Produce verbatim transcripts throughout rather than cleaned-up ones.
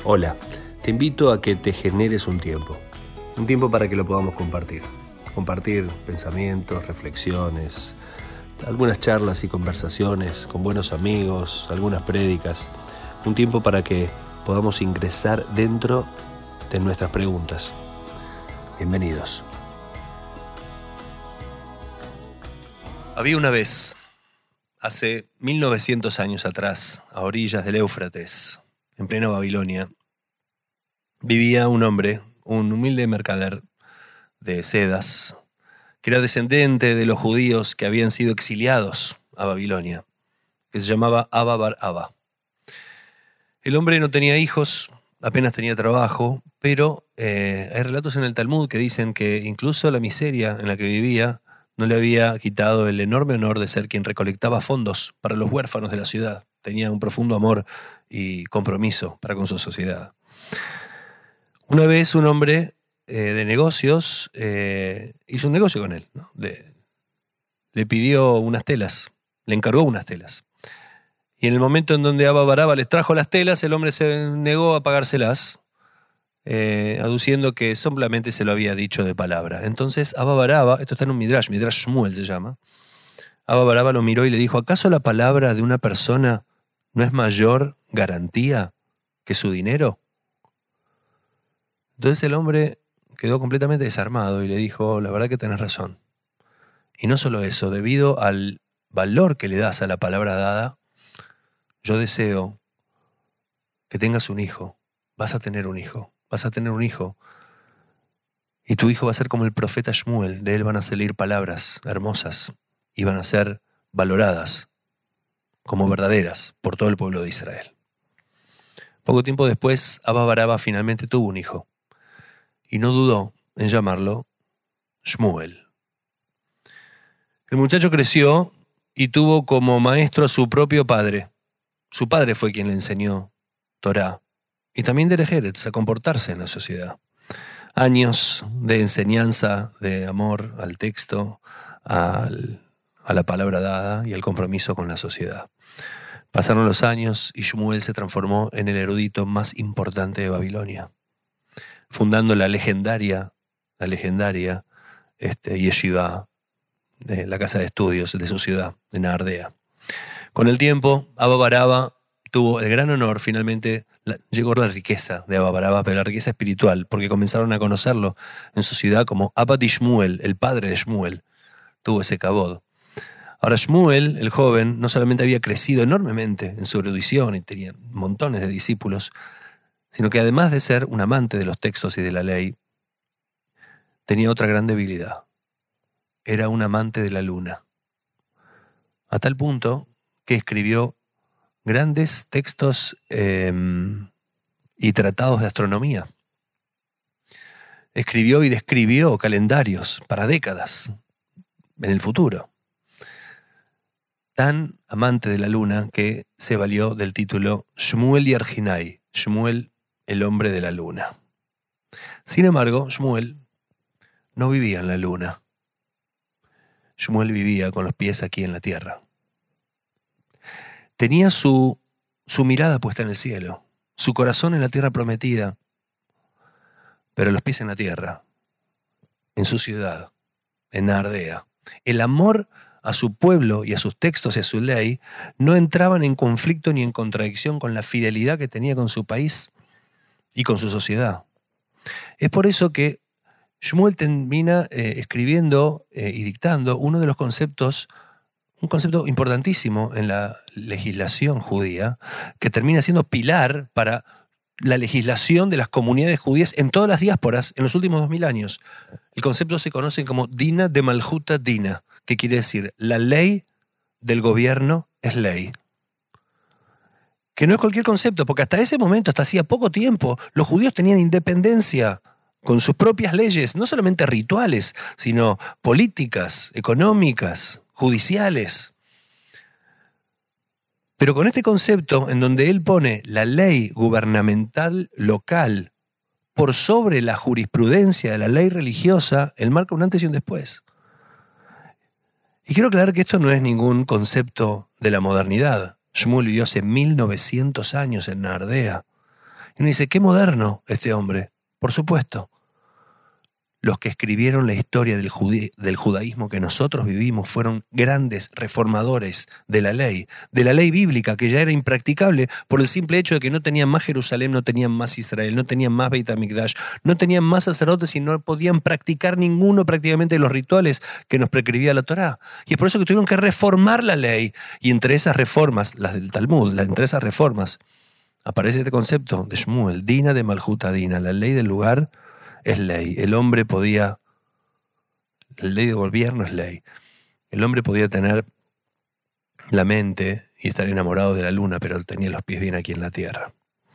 Hola, te invito a que te generes un tiempo, un tiempo para que lo podamos compartir. Compartir pensamientos, reflexiones, algunas charlas y conversaciones con buenos amigos, algunas prédicas. Un tiempo para que podamos ingresar dentro de nuestras preguntas. Bienvenidos. Había una vez, hace mil novecientos años atrás, a orillas del Éufrates, en plena Babilonia, vivía un hombre, un humilde mercader de sedas, que era descendiente de los judíos que habían sido exiliados a Babilonia, que se llamaba Abba bar Abba. El hombre no tenía hijos, apenas tenía trabajo, pero eh, hay relatos en el Talmud que dicen que incluso la miseria en la que vivía no le había quitado el enorme honor de ser quien recolectaba fondos para los huérfanos de la ciudad. Tenía un profundo amor y compromiso para con su sociedad. Una vez un hombre eh, de negocios eh, hizo un negocio con él, ¿no? Le, le pidió unas telas, le encargó unas telas. Y en el momento en donde Abba bar Abba les trajo las telas, el hombre se negó a pagárselas, eh, aduciendo que solamente se lo había dicho de palabra. Entonces Abba bar Abba, esto está en un Midrash, Midrash Shmuel se llama, Abba bar Abba lo miró y le dijo: ¿acaso la palabra de una persona no es mayor garantía que su dinero? Entonces el hombre quedó completamente desarmado y le dijo: la verdad que tenés razón. Y no solo eso, debido al valor que le das a la palabra dada, yo deseo que tengas un hijo. Vas a tener un hijo. Vas a tener un hijo. Y tu hijo va a ser como el profeta Shmuel. De él van a salir palabras hermosas y van a ser valoradas como verdaderas por todo el pueblo de Israel. Poco tiempo después, Abba bar Abba finalmente tuvo un hijo y no dudó en llamarlo Shmuel. El muchacho creció y tuvo como maestro a su propio padre. Su padre fue quien le enseñó Torá y también Derech Eretz, a comportarse en la sociedad. Años de enseñanza, de amor al texto, al, a la palabra dada y al compromiso con la sociedad. Pasaron los años y Shmuel se transformó en el erudito más importante de Babilonia, fundando la legendaria, la legendaria este, Yeshiva, de la casa de estudios de su ciudad, de Nahardea. Con el tiempo, Abba bar Abba tuvo el gran honor, finalmente la, llegó la riqueza de Abba bar Abba, pero la riqueza espiritual, porque comenzaron a conocerlo en su ciudad como Abba de Shmuel, el padre de Shmuel. Tuvo ese kabod. Ahora Shmuel, el joven, no solamente había crecido enormemente en su erudición y tenía montones de discípulos, sino que además de ser un amante de los textos y de la ley, tenía otra gran debilidad. Era un amante de la luna. A tal punto que escribió grandes textos eh, y tratados de astronomía. Escribió y describió calendarios para décadas en el futuro. Tan amante de la luna que se valió del título Shmuel Yarjinai, Shmuel, el hombre de la luna. Sin embargo, Shmuel no vivía en la luna. Shmuel vivía con los pies aquí en la tierra. Tenía su, su mirada puesta en el cielo, su corazón en la tierra prometida, pero los pies en la tierra, en su ciudad, en Nahardea. El amor a su pueblo y a sus textos y a su ley no entraban en conflicto ni en contradicción con la fidelidad que tenía con su país y con su sociedad. Es por eso que Shmuel termina eh, escribiendo eh, y dictando uno de los conceptos, un concepto importantísimo en la legislación judía, que termina siendo pilar para la legislación de las comunidades judías en todas las diásporas en los últimos dos mil años. El concepto se conoce como Dina de Malhuta Dina, que quiere decir la ley del gobierno es ley. Que no es cualquier concepto, porque hasta ese momento, hasta hacía poco tiempo, los judíos tenían independencia con sus propias leyes, no solamente rituales, sino políticas, económicas, judiciales. Pero con este concepto en donde él pone la ley gubernamental local por sobre la jurisprudencia de la ley religiosa, él marca un antes y un después. Y quiero aclarar que esto no es ningún concepto de la modernidad. Shmuel vivió hace mil novecientos años en Nahardea Y uno dice, qué moderno este hombre. Por supuesto. Los que escribieron la historia del, judí- del judaísmo que nosotros vivimos fueron grandes reformadores de la ley, de la ley bíblica, que ya era impracticable por el simple hecho de que no tenían más Jerusalén, no tenían más Israel, no tenían más Beit HaMikdash, no tenían más sacerdotes y no podían practicar ninguno prácticamente de los rituales que nos prescribía la Torá. Y es por eso que tuvieron que reformar la ley. Y entre esas reformas, las del Talmud, la- entre esas reformas, aparece este concepto de Shmuel, Dina de Malhut Adina, la ley del lugar es ley. El hombre podía, la ley de gobierno es ley. El hombre podía tener la mente y estar enamorado de la luna, pero tenía los pies bien aquí en la tierra.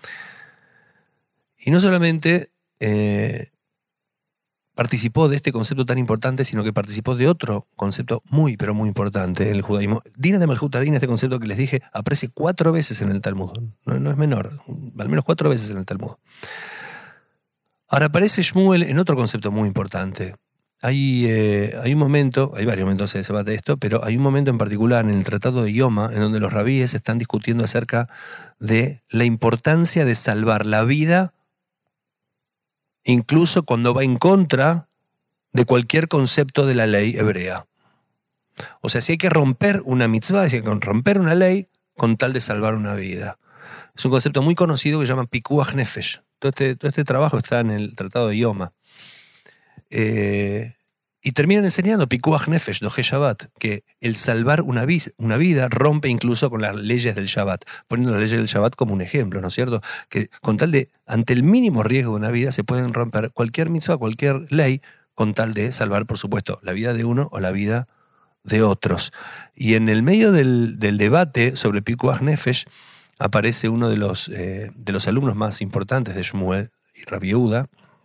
Y no solamente eh, participó de este concepto tan importante, sino que participó de otro concepto muy, pero muy importante en el judaísmo. Dina de Malhut Adina, este concepto que les dije, aparece cuatro veces en el Talmud. No, no es menor, al menos cuatro veces en el Talmud. Ahora aparece Shmuel en otro concepto muy importante. Hay, eh, hay un momento, hay varios momentos de debate de esto, pero hay un momento en particular en el Tratado de Yoma en donde los rabíes están discutiendo acerca de la importancia de salvar la vida, incluso cuando va en contra de cualquier concepto de la ley hebrea. O sea, si hay que romper una mitzvah, si hay que romper una ley con tal de salvar una vida. Es un concepto muy conocido que se llama Pikuach Nefesh. Todo este, todo este trabajo está en el Tratado de Yoma. Eh, y terminan enseñando Pikuach Nefesh, Doje Shabbat, que el salvar una, vis, una vida rompe incluso con las leyes del Shabbat, poniendo las leyes del Shabbat como un ejemplo, ¿no es cierto? Que con tal de, ante el mínimo riesgo de una vida, se pueden romper cualquier mitzvah, cualquier ley, con tal de salvar, por supuesto, la vida de uno o la vida de otros. Y en el medio del, del debate sobre Pikuach Nefesh, aparece uno de los, eh, de los alumnos más importantes de Shmuel, Rabbi Yehuda,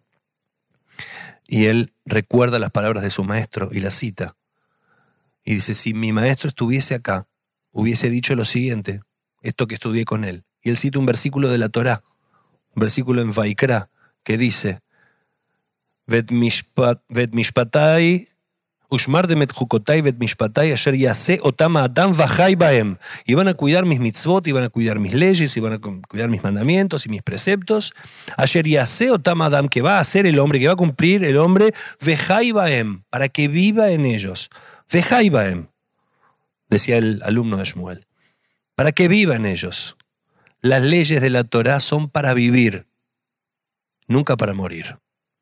y él recuerda las palabras de su maestro y las cita. Y dice, si mi maestro estuviese acá, hubiese dicho lo siguiente, esto que estudié con él. Y él cita un versículo de la Torá, un versículo en Vaikra, que dice, Vet mishpat, vet mishpatai, ushmartem et chukotai vet mishpatai asher yaseh otam adam vachai baem. Y van a cuidar mis mitzvot, y van a cuidar mis leyes, y van a cuidar mis mandamientos y mis preceptos. Asher yaseh otam adam, que va a hacer el hombre, que va a cumplir el hombre, vechai baem, para que viva en ellos. Vechai baem, decía el alumno de Shmuel, para que viva en ellos. Las leyes de la Torá son para vivir, nunca para morir.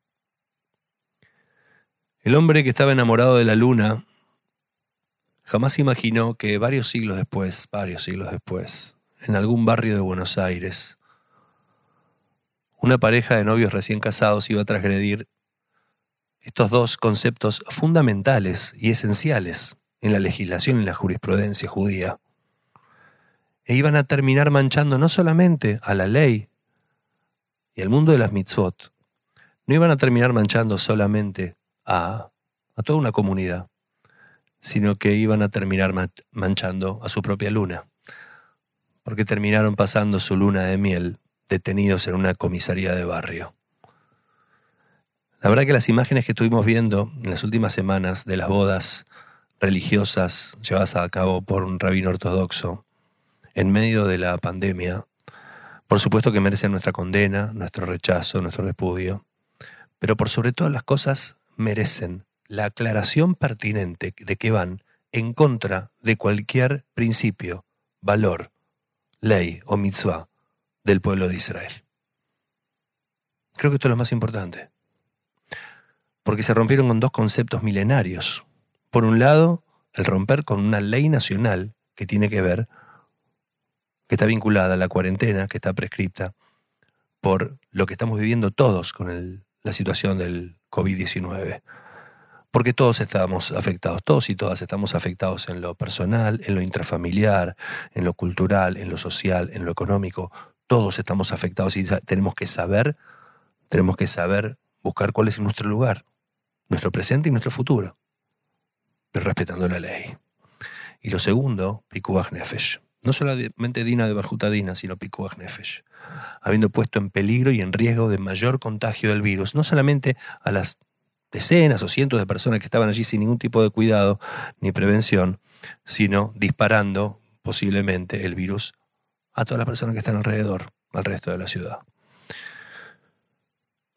El hombre que estaba enamorado de la luna jamás imaginó que varios siglos después, varios siglos después, en algún barrio de Buenos Aires, una pareja de novios recién casados iba a transgredir estos dos conceptos fundamentales y esenciales en la legislación y en la jurisprudencia judía. E iban a terminar manchando no solamente a la ley y al mundo de las mitzvot, no iban a terminar manchando solamente a, a toda una comunidad, sino que iban a terminar manchando a su propia luna, porque terminaron pasando su luna de miel detenidos en una comisaría de barrio. La verdad que las imágenes que estuvimos viendo en las últimas semanas de las bodas religiosas llevadas a cabo por un rabino ortodoxo en medio de la pandemia, por supuesto que merecen nuestra condena, nuestro rechazo, nuestro repudio, pero por sobre todas las cosas merecen la aclaración pertinente de que van en contra de cualquier principio, valor, ley o mitzvah del pueblo de Israel. Creo que esto es lo más importante, porque se rompieron con dos conceptos milenarios. Por un lado, el romper con una ley nacional que tiene que ver, que está vinculada a la cuarentena, que está prescripta por lo que estamos viviendo todos con el, la situación del COVID diecinueve. Porque todos estamos afectados, todos y todas estamos afectados en lo personal, en lo intrafamiliar, en lo cultural, en lo social, en lo económico. Todos estamos afectados y tenemos que saber, tenemos que saber buscar cuál es nuestro lugar, nuestro presente y nuestro futuro, pero respetando la ley. Y lo segundo, Pikuach Nefesh. No solamente Dina de Malhut Adina, sino Pikuach Nefesh. Habiendo puesto en peligro y en riesgo de mayor contagio del virus, no solamente a las decenas o cientos de personas que estaban allí sin ningún tipo de cuidado ni prevención, sino disparando posiblemente el virus a todas las personas que están alrededor, al resto de la ciudad.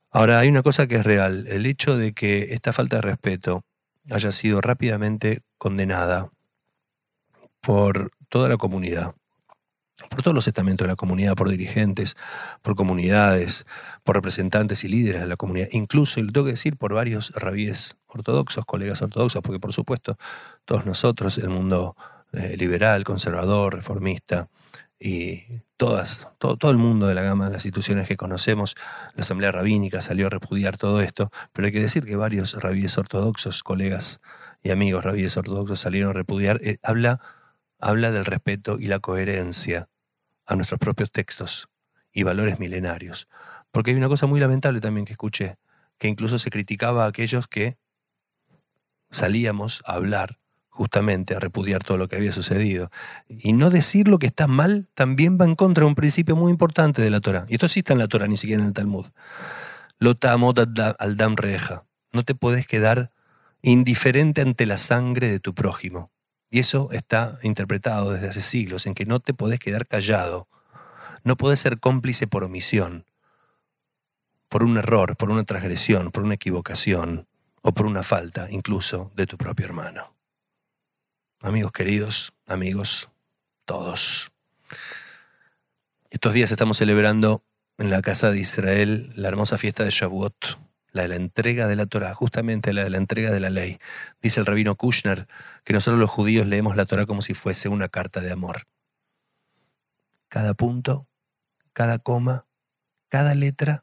Ahora, hay una cosa que es real. El hecho de que esta falta de respeto haya sido rápidamente condenada por toda la comunidad, por todos los estamentos de la comunidad, por dirigentes, por comunidades, por representantes y líderes de la comunidad, incluso, y lo tengo que decir, por varios rabíes ortodoxos, colegas ortodoxos, porque por supuesto todos nosotros, el mundo eh, liberal, conservador, reformista, y todas, todo, todo el mundo de la gama de las instituciones que conocemos, la Asamblea Rabínica salió a repudiar todo esto, pero hay que decir que varios rabíes ortodoxos, colegas y amigos rabíes ortodoxos salieron a repudiar, eh, habla habla del respeto y la coherencia a nuestros propios textos y valores milenarios. Porque hay una cosa muy lamentable también que escuché, que incluso se criticaba a aquellos que salíamos a hablar justamente, a repudiar todo lo que había sucedido. Y no decir lo que está mal también va en contra de un principio muy importante de la Torá. Y esto sí está en la Torá, ni siquiera en el Talmud. Lo ta'amod al dam reja. No te podés quedar indiferente ante la sangre de tu prójimo. Y eso está interpretado desde hace siglos, en que no te podés quedar callado, no podés ser cómplice por omisión, por un error, por una transgresión, por una equivocación o por una falta incluso de tu propio hermano. Amigos queridos, amigos, todos. Estos días estamos celebrando en la casa de Israel la hermosa fiesta de Shavuot, la de la entrega de la Torá, justamente la de la entrega de la ley. Dice el rabino Kushner que nosotros los judíos leemos la Torá como si fuese una carta de amor. Cada punto, cada coma, cada letra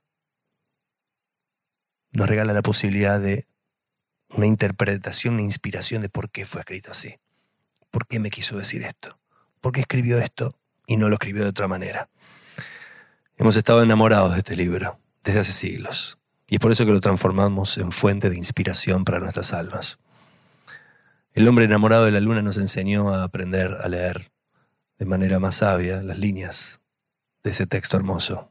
nos regala la posibilidad de una interpretación, una inspiración de por qué fue escrito así. ¿Por qué me quiso decir esto? ¿Por qué escribió esto y no lo escribió de otra manera? Hemos estado enamorados de este libro desde hace siglos. Y es por eso que lo transformamos en fuente de inspiración para nuestras almas. El hombre enamorado de la luna nos enseñó a aprender a leer de manera más sabia las líneas de ese texto hermoso.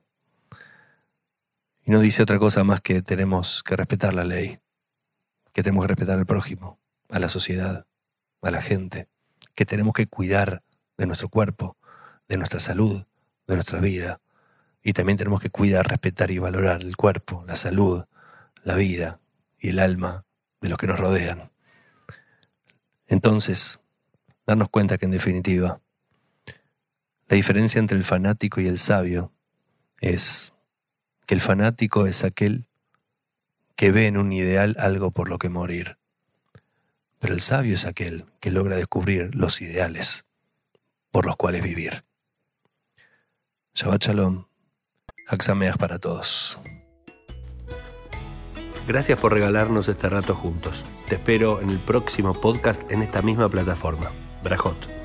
Y no dice otra cosa más que tenemos que respetar la ley, que tenemos que respetar al prójimo, a la sociedad, a la gente, que tenemos que cuidar de nuestro cuerpo, de nuestra salud, de nuestra vida. Y también tenemos que cuidar, respetar y valorar el cuerpo, la salud, la vida y el alma de los que nos rodean. Entonces, darnos cuenta que en definitiva, la diferencia entre el fanático y el sabio es que el fanático es aquel que ve en un ideal algo por lo que morir. Pero el sabio es aquel que logra descubrir los ideales por los cuales vivir. Shabbat Shalom. Hag Sameach para todos. Gracias por regalarnos este rato juntos. Te espero en el próximo podcast en esta misma plataforma. Brajot.